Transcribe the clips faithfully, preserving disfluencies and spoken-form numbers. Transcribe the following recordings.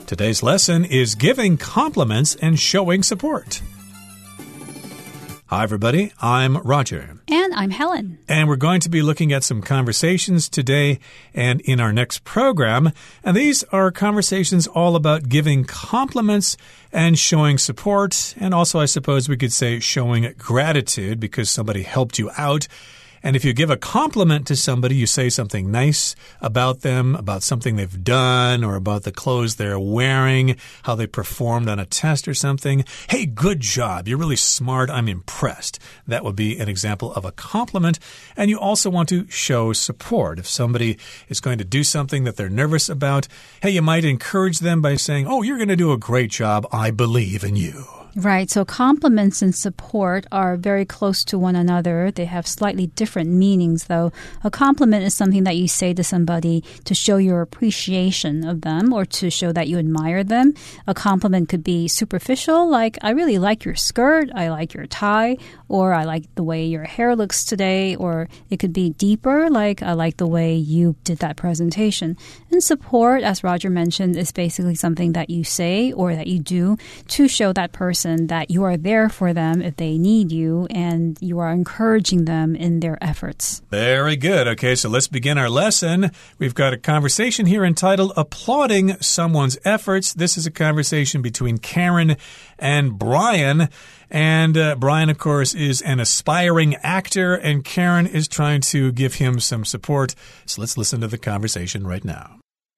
Today's lesson is giving compliments and showing support. Hi, everybody. I'm Roger. And I'm Helen. And we're going to be looking at some conversations today and in our next program. And these are conversations all about giving compliments and showing support. And also, I suppose we could say showing gratitude because somebody helped you out. And if you give a compliment to somebody, you say something nice about them, about something they've done, or about the clothes they're wearing, how they performed on a test or something. Hey, good job. You're really smart. I'm impressed. That would be an example of a compliment. And you also want to show support. If somebody is going to do something that they're nervous about, hey, you might encourage them by saying, oh, you're going to do a great job. I believe in you. Right, so compliments and support are very close to one another. They have slightly different meanings, though. A compliment is something that you say to somebody to show your appreciation of them or to show that you admire them. A compliment could be superficial, like, I really like your skirt, I like your tie, or I like the way your hair looks today, or it could be deeper, like, I like the way you did that presentation. And support, as Roger mentioned, is basically something that you say or that you do to show that person that you are there for them if they need you and you are encouraging them in their efforts. Very good. Okay, so let's begin our lesson. We've got a conversation here entitled Applauding Someone's Efforts. This is a conversation between Karen and Brian. And uh, Brian, of course, is an aspiring actor, and Karen is trying to give him some support. So let's listen to the conversation right now.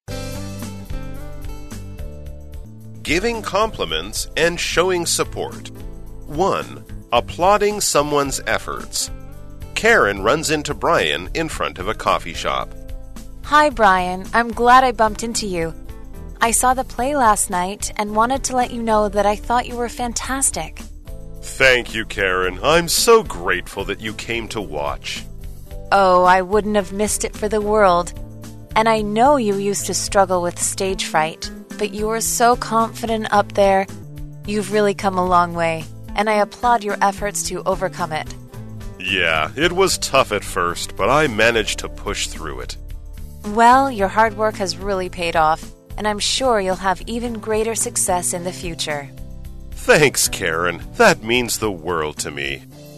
Giving compliments and showing support. one. Applauding someone's efforts. Karen runs into Brian in front of a coffee shop. Hi, Brian. I'm glad I bumped into you. I saw the play last night and wanted to let you know that I thought you were fantastic. Thank you, Karen. I'm so grateful that you came to watch. Oh, I wouldn't have missed it for the world. And I know you used to struggle with stage fright. But you were so confident up there. You've really come a long way, and I applaud your efforts to overcome it. Yeah, it was tough at first, but I managed to push through it. Well, your hard work has really paid off, and I'm sure you'll have even greater success in the future. Thanks, Karen. That means the world to me.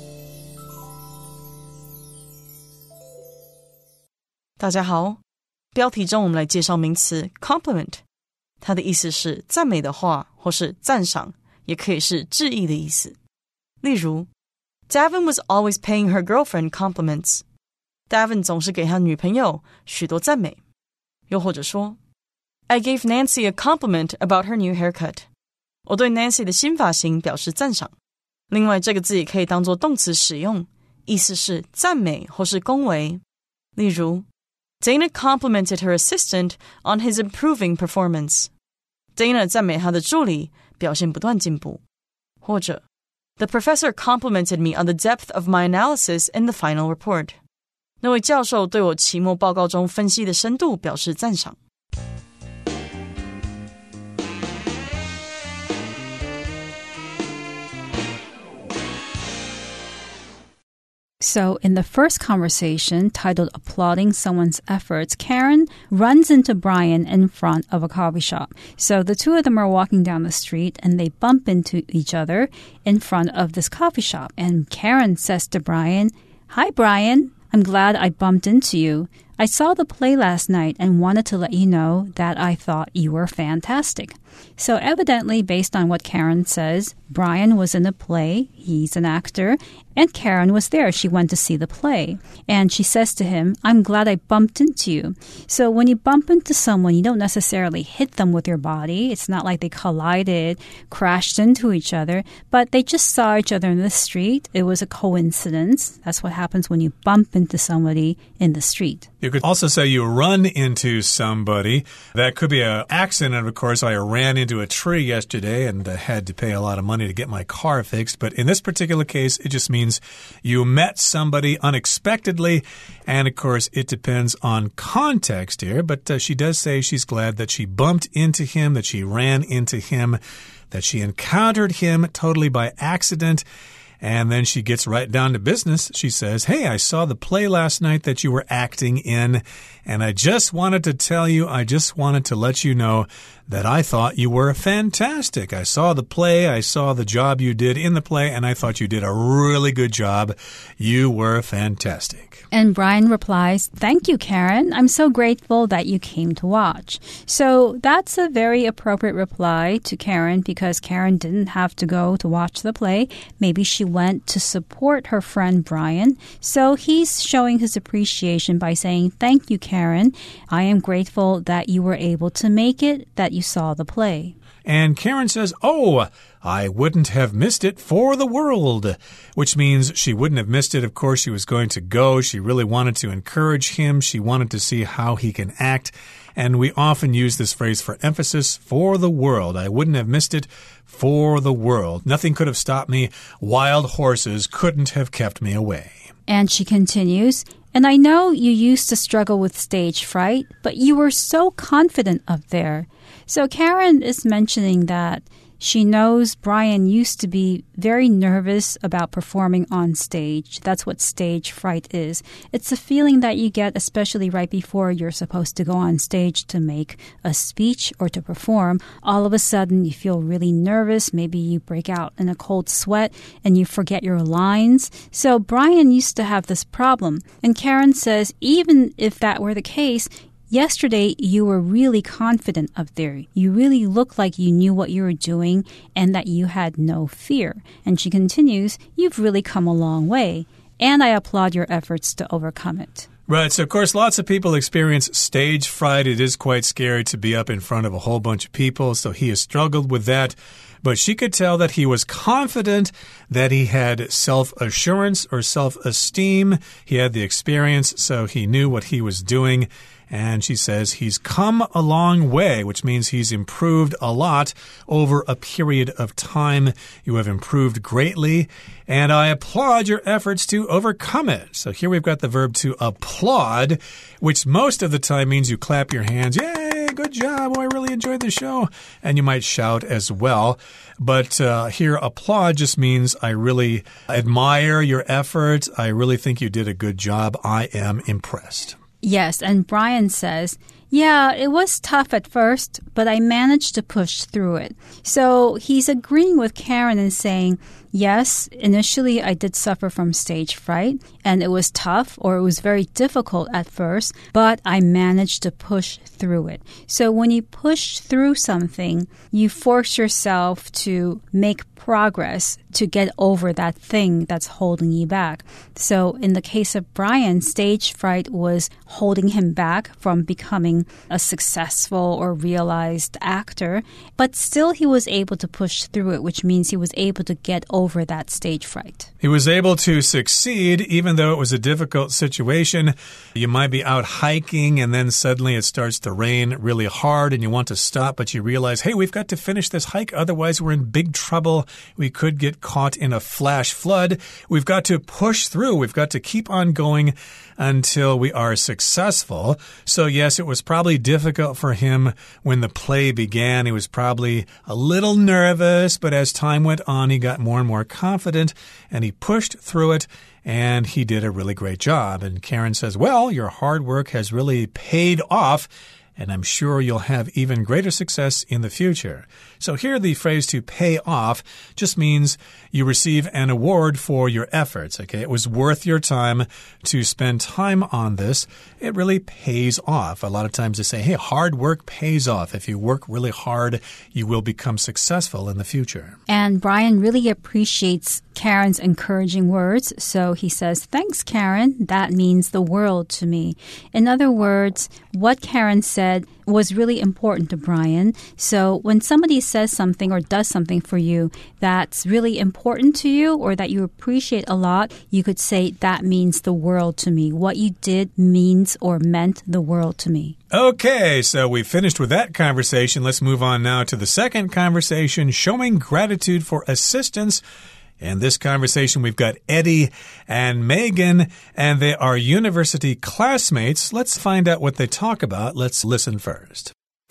大家好，标题中我们来介绍名詞 compliment。它的意思是讚美的話，或是讚賞，也可以是致意的意思。例如 Davin was always paying her girlfriend compliments. Davin 總是給他女朋友許多讚美。又或者說 I gave Nancy a compliment about her new haircut. 我對 Nancy 的新髮型表示讚賞。另外，這個字也可以當作動詞使用，意思是讚美或是恭維。例如Dana complimented her assistant on his improving performance. Dana 讚美她的助理表現不斷進步。或者 The professor complimented me on the depth of my analysis in the final report. 那位教授對我期末報告中分析的深度表示讚賞。 So in the first conversation, titled Applauding Someone's Efforts, Karen runs into Brian in front of a coffee shop. So the two of them are walking down the street and they bump into each other in front of this coffee shop. And Karen says to Brian, Hi, Brian. I'm glad I bumped into you. I saw the play last night and wanted to let you know that I thought you were fantastic. So evidently, based on what Karen says, Brian was in the play. He's an actor. And Karen was there. She went to see the play. And she says to him, I'm glad I bumped into you. So when you bump into someone, you don't necessarily hit them with your body. It's not like they collided, crashed into each other, but they just saw each other in the street. It was a coincidence. That's what happens when you bump into somebody in the street. You could also say you run into somebody. That could be an accident. Of course, I ran into a tree yesterday and uh, had to pay a lot of money to get my car fixed. But in this particular case, it just means you met somebody unexpectedly. And, of course, it depends on context here. But uh, she does say she's glad that she bumped into him, that she ran into him, that she encountered him totally by accident. And then she gets right down to business. She says, hey, I saw the play last night that you were acting in, and I just wanted to tell you, I just wanted to let you know that I thought you were fantastic. I saw the play, I saw the job you did in the play, and I thought you did a really good job. You were fantastic. And Brian replies, "Thank you, Karen. I'm so grateful that you came to watch." So that's a very appropriate reply to Karen because Karen didn't have to go to watch the play. Maybe she went to support her friend Brian. So he's showing his appreciation by saying, "Thank you, Karen. I am grateful that you were able to make it, that you saw the play." And Karen says, "Oh, I wouldn't have missed it for the world," which means she wouldn't have missed it. Of course, she was going to go. She really wanted to encourage him. She wanted to see how he can act. And we often use this phrase for emphasis, for the world. I wouldn't have missed it for the world. Nothing could have stopped me. Wild horses couldn't have kept me away. And she continues, "And I know you used to struggle with stage fright, but you were so confident up there." So Karen is mentioning that she knows Brian used to be very nervous about performing on stage. That's what stage fright is. It's a feeling that you get especially right before you're supposed to go on stage to make a speech or to perform. All of a sudden, you feel really nervous. Maybe you break out in a cold sweat and you forget your lines. So Brian used to have this problem. And Karen says, even if that were the case, yesterday, you were really confident up there. You really looked like you knew what you were doing and that you had no fear. And she continues, "You've really come a long way, and I applaud your efforts to overcome it." Right, so of course lots of people experience stage fright. It is quite scary to be up in front of a whole bunch of people, so he has struggled with that. But she could tell that he was confident, that he had self-assurance or self-esteem. He had the experience, so he knew what he was doing. And she says he's come a long way, which means he's improved a lot over a period of time. You have improved greatly, and I applaud your efforts to overcome it. So here we've got the verb to applaud, which most of the time means you clap your hands. Yay, good job. Oh, I really enjoyed the show. And you might shout as well. But uh, here, applaud just means I really admire your effort. I really think you did a good job. I am impressed. Yes, and Brian says, "Yeah, it was tough at first, but I managed to push through it." So he's agreeing with Karen and saying, yes, initially I did suffer from stage fright, and it was tough or it was very difficult at first, but I managed to push through it. So when you push through something, you force yourself to make progress to get over that thing that's holding you back. So in the case of Brian, stage fright was holding him back from becoming a successful or realized actor, but still he was able to push through it, which means he was able to get over that stage fright. He was able to succeed even though it was a difficult situation. You might be out hiking and then suddenly it starts to rain really hard and you want to stop, but you realize, hey, we've got to finish this hike, otherwise we're in big trouble. We could get caught in a flash flood. We've got to push through. We've got to keep on going until we are successful. So yes, it was probably difficult for him when the play began. He was probably a little nervous, but as time went on, he got more and more confident and he pushed through it. And he did a really great job. And Karen says, well, your hard work has really paid off, and I'm sure you'll have even greater success in the future. So here the phrase to pay off just means you receive an award for your efforts. Okay, it was worth your time to spend time on this. It really pays off. A lot of times they say, hey, hard work pays off. If you work really hard, you will become successful in the future. And Brian really appreciates Karen's encouraging words. So he says, thanks, Karen. That means the world to me. In other words, what Karen said was really important to Brian. So when somebody says something or does something for you that's really important to you or that you appreciate a lot, you could say that means the world to me. What you did means or meant the world to me. Okay, so we finished with that conversation. Let's move on now to the second conversation, showing gratitude for assistance. In this conversation, we've got Eddie and Megan, and they are university classmates. Let's find out what they talk about. Let's listen first.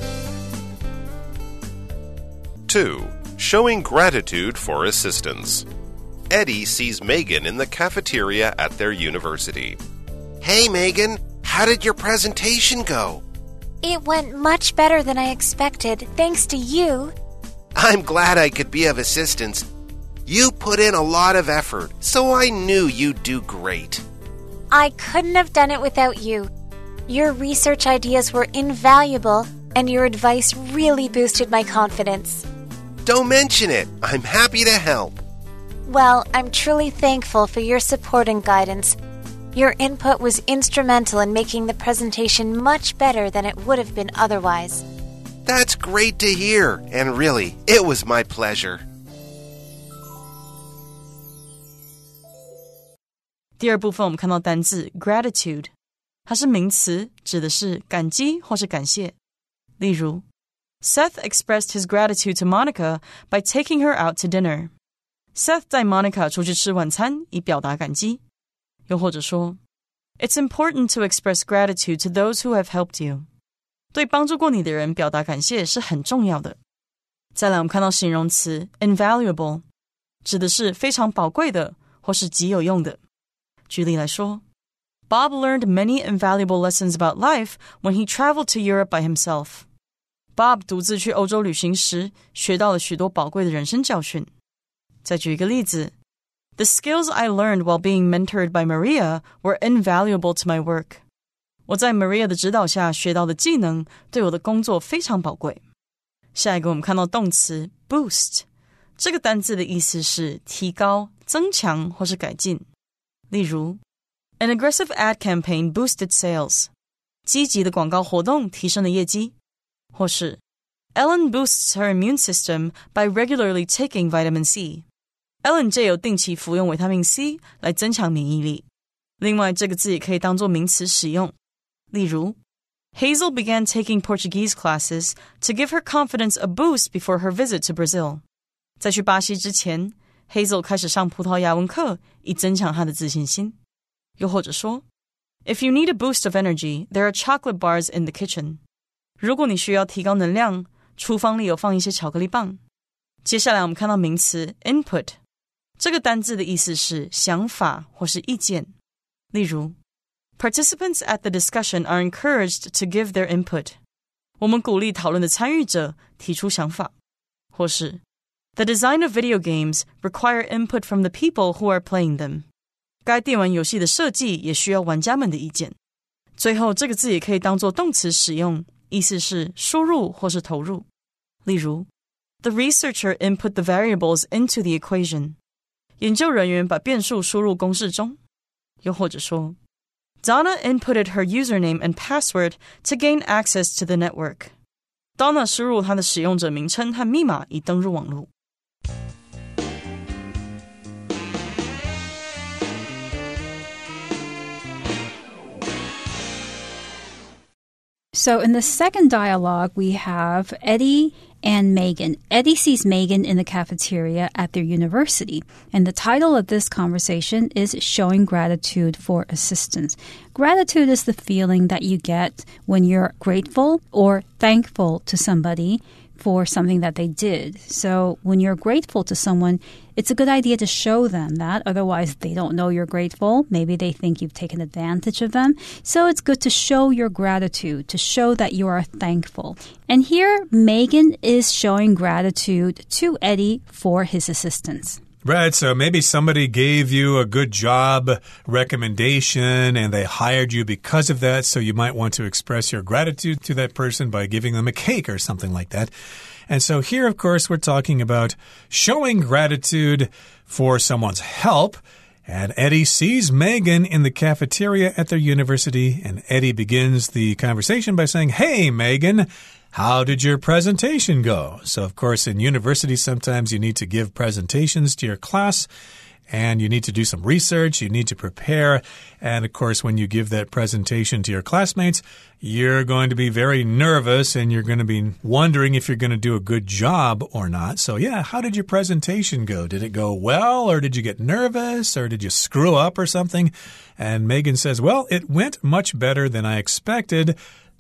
two. Showing gratitude for assistance. Eddie sees Megan in the cafeteria at their university. Hey, Megan, how did your presentation go? It went much better than I expected, thanks to you. I'm glad I could be of assistance. You put in a lot of effort, so I knew you'd do great. I couldn't have done it without you. Your research ideas were invaluable, and your advice really boosted my confidence. Don't mention it. I'm happy to help. Well, I'm truly thankful for your support and guidance. Your input was instrumental in making the presentation much better than it would have been otherwise. That's great to hear, and really, it was my pleasure. 第二部分我们看到单字 gratitude， 它是名詞，指的是感激或是感謝。例如 Seth expressed his gratitude to Monica by taking her out to dinner. Seth 帶 Monica 出去吃晚餐，以表達感激。又或者說 It's important to express gratitude to those who have helped you. 對幫助過你的人表達感謝是很重要的。再來我們看到形容詞 invaluable， 指的是非常寶貴的或是極有用的。舉例來說 Bob learned many invaluable lessons about life when he traveled to Europe by himself. Bob 獨自去歐洲旅行時，學到了許多寶貴的人生教訓。再舉一個例子 The skills I learned while being mentored by Maria were invaluable to my work. 我在 Maria 的指導下學到的技能，對我的工作非常寶貴。下一個我們看到動詞 boost， 這個單字的意思是提高、增強或是改進。例如 An aggressive ad campaign boosted sales. 積極的廣告活動提升了業績。或是 Ellen boosts her immune system by regularly taking vitamin C. Ellen 藉由定期服用維他命 C 來增強免疫力。另外這個字也可以當作名詞使用。例如 Hazel began taking Portuguese classes to give her confidence a boost before her visit to Brazil. 在去巴西之前 Hazel 開始上葡萄牙文課，以增強她的自信心。又或者說 If you need a boost of energy, there are chocolate bars in the kitchen. 如果你需要提高能量，廚房裡有放一些巧克力棒。接下來我們看到名詞 input， 這個單字的意思是想法或是意見。例如 Participants at the discussion are encouraged to give their input. 我們鼓勵討論的參與者提出想法。或是 The design of video games require input from the people who are playing them. 該電玩遊戲的設計也需要玩家們的意見。最後這個字也可以當作動詞使用，意思是輸入或是投入。例如 The researcher input the variables into the equation. 研究人員把變數輸入公式中。又或者說 Donna inputted her username and password to gain access to the network. Donna 輸入她的使用者名稱和密碼以登入網絡。 So in the second dialogue, we have Eddie and Megan. Eddie sees Megan in the cafeteria at their university. And the title of this conversation is Showing Gratitude for Assistance. Gratitude is the feeling that you get when you're grateful or thankful to somebody for something that they did. So when you're grateful to someone, it's a good idea to show them that. Otherwise, they don't know you're grateful. Maybe they think you've taken advantage of them. So it's good to show your gratitude, to show that you are thankful. And here, Megan is showing gratitude to Eddie for his assistance. Right, so maybe somebody gave you a good job recommendation and they hired you because of that, so you might want to express your gratitude to that person by giving them a cake or something like that. And so here, of course, we're talking about showing gratitude for someone's help. And Eddie sees Megan in the cafeteria at their university, and Eddie begins the conversation by saying, Hey, Megan, how did your presentation go? So, of course, in university, sometimes you need to give presentations to your class, and you need to do some research, you need to prepare. And, of course, when you give that presentation to your classmates, you're going to be very nervous, and you're going to be wondering if you're going to do a good job or not. So, yeah, how did your presentation go? Did it go well, or did you get nervous, or did you screw up or something? And Megan says, well, it went much better than I expected.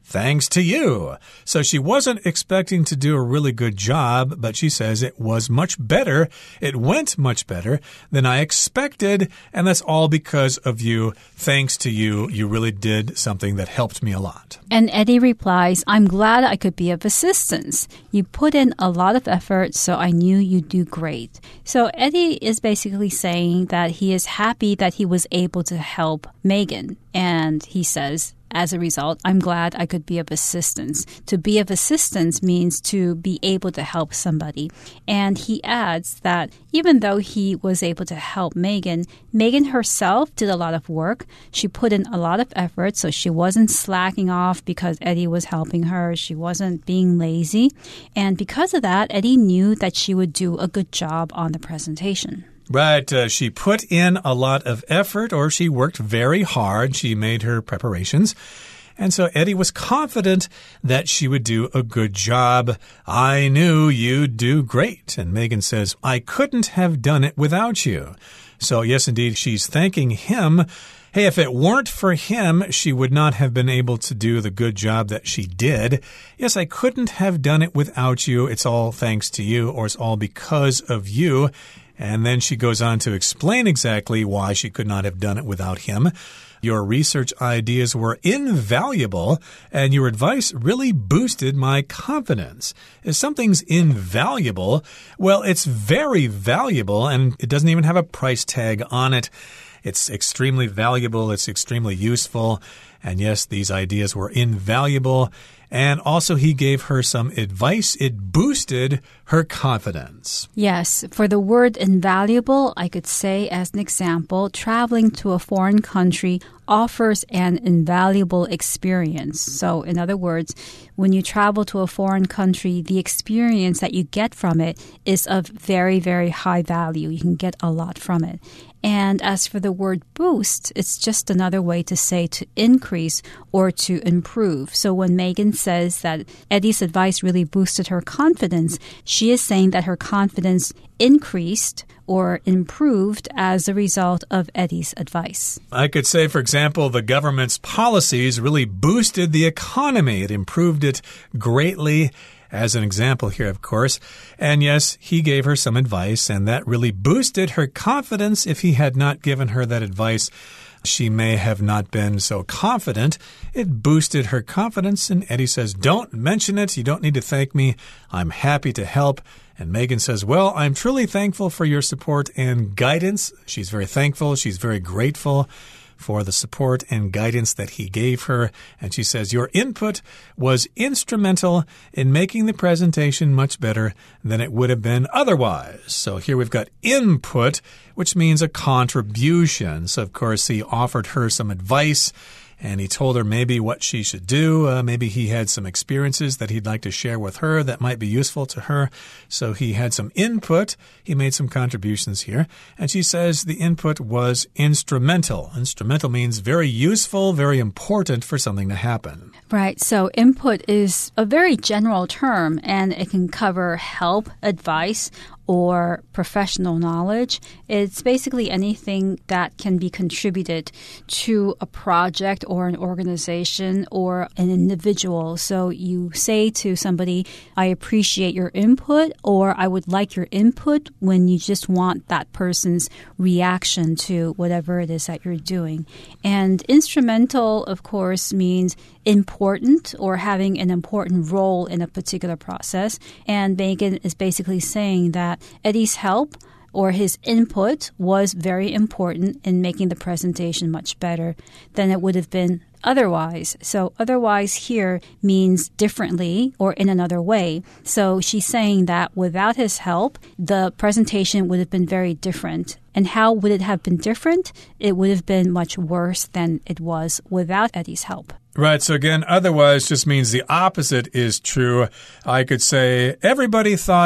thanks to you. So she wasn't expecting to do a really good job, but she says it was much better. It went much better than I expected, and that's all because of you. Thanks to you, you really did something that helped me a lot. And Eddie replies, I'm glad I could be of assistance. You put in a lot of effort, so I knew you'd do great. So Eddie is basically saying that he is happy that he was able to help Megan, and he says, as a result, I'm glad I could be of assistance. To be of assistance means to be able to help somebody. And he adds that even though he was able to help Megan, Megan herself did a lot of work. She put in a lot of effort, so she wasn't slacking off because Eddie was helping her. She wasn't being lazy. And because of that, Eddie knew that she would do a good job on the presentation. Right. Uh, she put in a lot of effort, or she worked very hard. She made her preparations. And so Eddie was confident that she would do a good job. I knew you'd do great. And Megan says, I couldn't have done it without you. So yes, indeed, she's thanking him. Hey, if it weren't for him, she would not have been able to do the good job that she did. Yes, I couldn't have done it without you. It's all thanks to you, or it's all because of you. And then she goes on to explain exactly why she could not have done it without him. Your research ideas were invaluable, and your advice really boosted my confidence. If something's invaluable, well, it's very valuable, and it doesn't even have a price tag on it. It's extremely valuable. It's extremely useful. And yes, these ideas were invaluable. And also, he gave her some advice. It boosted her confidence. Yes, for the word invaluable, I could say as an example, traveling to a foreign country offers an invaluable experience. So, in other words, when you travel to a foreign country, the experience that you get from it is of very, very high value. You can get a lot from it. And as for the word boost, it's just another way to say to increase or to improve. So when Megan says that Eddie's advice really boosted her confidence, she is saying that her confidence increased or improved as a result of Eddie's advice. I could say, for example, the government's policies really boosted the economy. It improved it greatly. As an example here, of course. And yes, he gave her some advice, and that really boosted her confidence. If he had not given her that advice, she may have not been so confident. It boosted her confidence, and Eddie says, don't mention it. You don't need to thank me. I'm happy to help. And Megan says, well, I'm truly thankful for your support and guidance. She's very thankful. She's very grateful for the support and guidance that he gave her. And she says, your input was instrumental in making the presentation much better than it would have been otherwise. So here we've got input, which means a contribution. So, of course, he offered her some advice, and he told her maybe what she should do. Uh, maybe he had some experiences that he'd like to share with her that might be useful to her. So he had some input. He made some contributions here. And she says the input was instrumental. Instrumental means very useful, very important for something to happen. Right. So input is a very general term, and it can cover help, advice, or professional knowledge. It's basically anything that can be contributed to a project or an organization or an individual. So you say to somebody, I appreciate your input, or I would like your input, when you just want that person's reaction to whatever it is that you're doing. And instrumental, of course, means important or having an important role in a particular process. And Megan is basically saying that Eddie's help or his input was very important in making the presentation much better than it would have been otherwise. So otherwise here means differently or in another way. So she's saying that without his help, the presentation would have been very different. And how would it have been different? It would have been much worse than it was without Eddie's help. Right. So again, otherwise just means the opposite is true. I could say everybody thought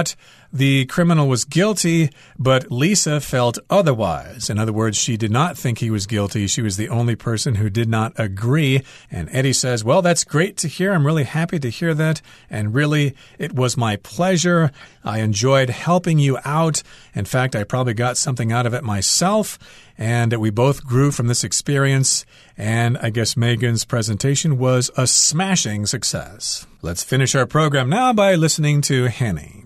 the criminal was guilty, but Lisa felt otherwise. In other words, she did not think he was guilty. She was the only person who did not agree. And Eddie says, well, that's great to hear. I'm really happy to hear that. And really, it was my pleasure. I enjoyed helping you out. In fact, I probably got something out of it myself. And we both grew from this experience. And I guess Megan's presentation was a smashing success. Let's finish our program now by listening to Henny.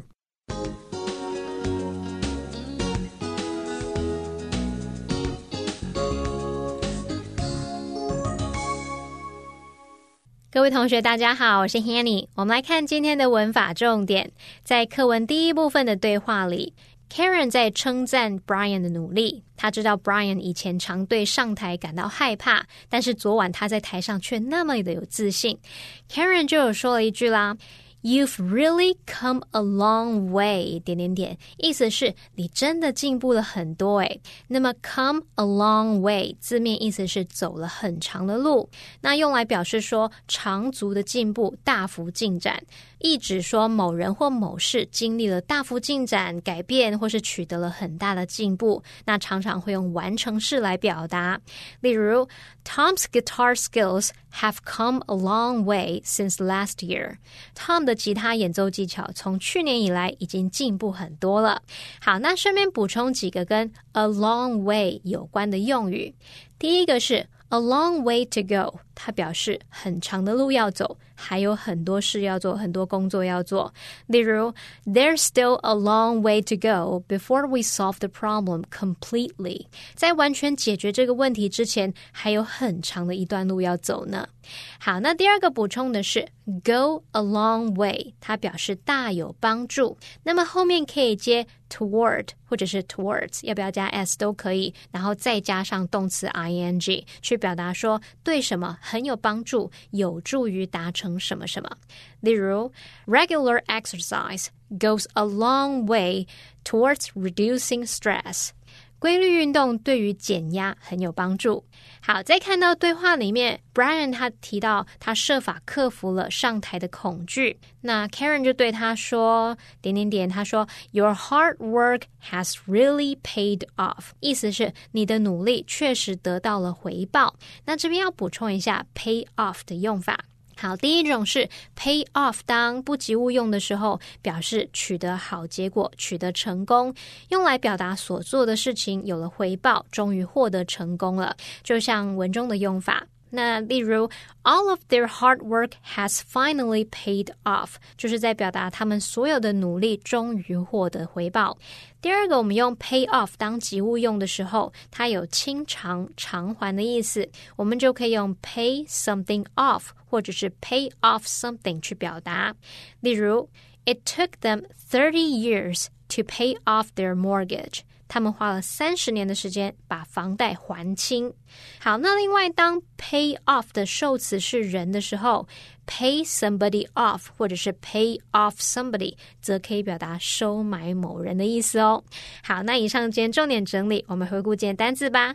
各位同学大家好，我是 Hanny。 我们来看今天的文法重点。在課文第一部分的對話裡， Karen 在稱讚 Brian 的努力。他知道 Brian 以前常對上台感到害怕，但是昨晚他在台上卻那麼的有自信。 Karen 就有說了一句啦， You've really come a long way 點點點，意思是你真的進步了很多誒。那麼 come a long way 字面意思是走了很長的路，那用來表示說長足的進步，大幅進展，意指說某人或某事經歷了大幅進展、改變，或是取得了很大的進步，那常常會用完成式來表達。例如 Tom's guitar skills have come a long way since last year. Tom 的吉他演奏技巧從去年以來已經進步很多了。好，那順便補充幾個跟 a long way 有關的用語。第一個是 a long way to go， 它表示很長的路要走，還有很多事要做，很多工作要做。例如 There's still a long way to go before we solve the problem completely. 在完全解決這個問題之前，還有很長的一段路要走呢。好，那第二個補充的是 go a long way， 它表示大有幫助。那麼後面可以接 toward 或者是 towards， 要不要加 s 都可以，然後再加上動詞 ing 去表達說對什麼很有幫助，有助於達成什麼什麼。例如 regular exercise goes a long way towards reducing stress。規律運動對於減壓很有幫助。好，再看到對話裡面 Brian 他提到他設法克服了上台的恐懼，那 Karen 就對他說點點點，他說 Your hard work has really paid off， 意思是你的努力確實得到了回報。那這邊要補充一下 pay off 的用法。好，第一種是 pay off 當不及物用的時候，表示取得好結果，取得成功，用來表達所做的事情有了回報，終於獲得成功了，就像文中的用法。那例如 all of their hard work has finally paid off， 就是在表達他們所有的努力終於獲得回報。第二個，我們用 pay off 當及物用的時候，它有清償償還的意思，我們就可以用 pay something off 或者是 pay off something 去表達。例如 It took them thirty years to pay off their mortgage，他們花了三十年的時間把房貸還清。好，那另外當 pay off 的受詞是人的時候， pay somebody off 或者是 pay off somebody 則可以表達收買某人的意思哦。好，那以上今天重點整理，我們回顧今天單字吧。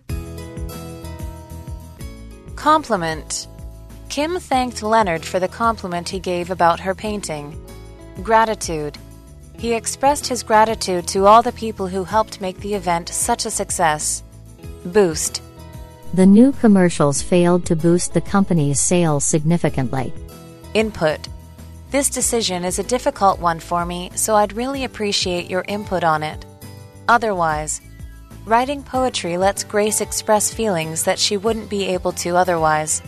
Compliment. Kim thanked Leonard for the compliment he gave about her painting. Gratitude.He expressed his gratitude to all the people who helped make the event such a success. Boost. The new commercials failed to boost the company's sales significantly. Input. This decision is a difficult one for me, so I'd really appreciate your input on it. Otherwise. Writing poetry lets Grace express feelings that she wouldn't be able to otherwise.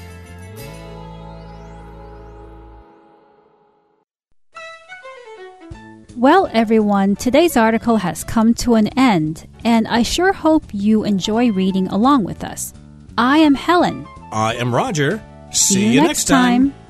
Well, everyone, today's article has come to an end, and I sure hope you enjoy reading along with us. I am Helen. I am Roger. See, See you next time. time.